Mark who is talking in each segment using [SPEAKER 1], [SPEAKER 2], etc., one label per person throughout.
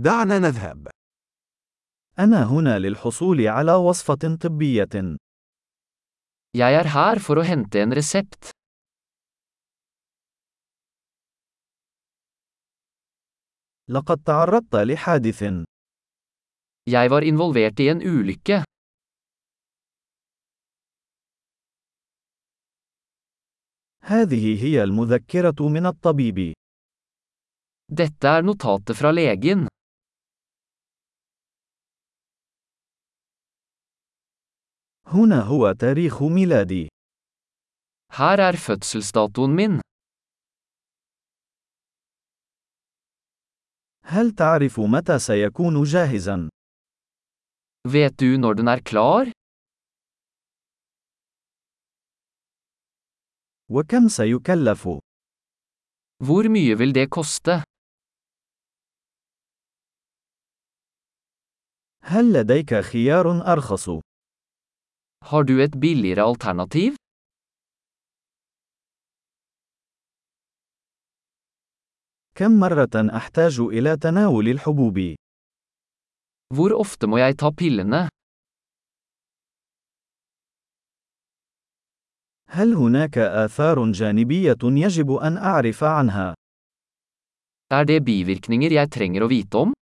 [SPEAKER 1] دعنا نذهب.
[SPEAKER 2] أنا هنا للحصول على وصفة طبية.
[SPEAKER 3] Jeg er her for å hente en resept.
[SPEAKER 2] لقد تعرضت لحادث.
[SPEAKER 3] Jeg var involvert i en ulykke.
[SPEAKER 2] هذه هي المذكرة من الطبيب.
[SPEAKER 3] Dette er notatet fra legen.
[SPEAKER 2] هنا هو تاريخ ميلادي.
[SPEAKER 3] Her er fødselsdatoen min.
[SPEAKER 2] هل تعرف متى سيكون جاهزا؟
[SPEAKER 3] Vet du når den er klar?
[SPEAKER 2] وكم سيكلف؟
[SPEAKER 3] Hvor mye vil det koste?
[SPEAKER 2] هل لديك خيار أرخص؟
[SPEAKER 3] Har du et billigere alternativ?
[SPEAKER 2] كم مرة أحتاج إلى تناول الحبوب؟
[SPEAKER 3] Hvor ofte må jeg ta pillene?
[SPEAKER 2] هل هناك آثار جانبية يجب أن أعرف عنها؟
[SPEAKER 3] Er det bivirkninger jeg trenger å vite om?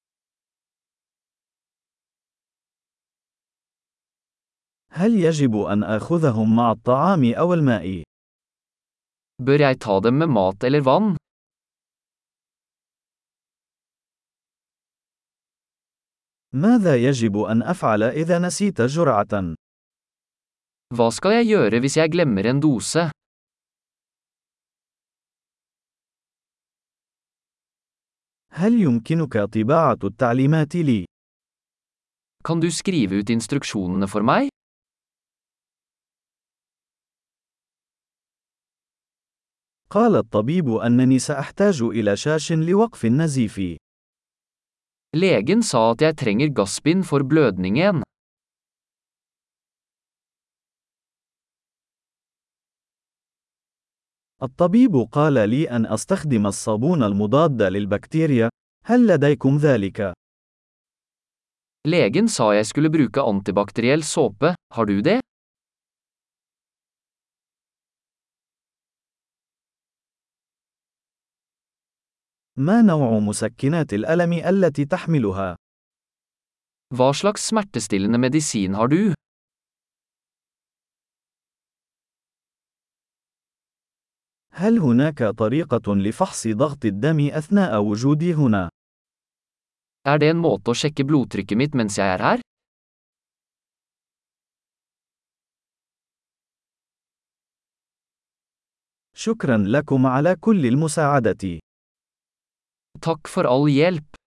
[SPEAKER 2] هل يجب أن آخذهم مع الطعام أو الماء؟
[SPEAKER 3] Bør jeg ta dem med mat eller vann?
[SPEAKER 2] ماذا يجب أن أفعل إذا نسيت جرعة؟
[SPEAKER 3] Hva skal jeg gjøre hvis jeg glemmer en dose?
[SPEAKER 2] هل يمكنك طباعة التعليمات لي؟
[SPEAKER 3] Kan du skrive ut instruksjonene for meg?
[SPEAKER 2] قال الطبيب أنني سأحتاج إلى شاش لوقف النزيف.
[SPEAKER 3] Legen sa at jeg trenger gassbind for blødningen.
[SPEAKER 2] الطبيب قال لي أن أستخدم الصابون المضاد للبكتيريا. هل لديكم ذلك؟
[SPEAKER 3] Legen sa jeg skulle bruke antibakteriell såpe, har du det?
[SPEAKER 2] ما نوع مسكنات الألم التي تحملها؟
[SPEAKER 3] Hva slags smertestillende medisin har du?
[SPEAKER 2] هل هناك طريقة لفحص ضغط الدم أثناء وجودي هنا؟
[SPEAKER 3] Er det en måte å sjekke blodtrykket mitt mens jeg er her?
[SPEAKER 2] شكرا لكم على كل المساعدة.
[SPEAKER 3] Takk for all hjelp.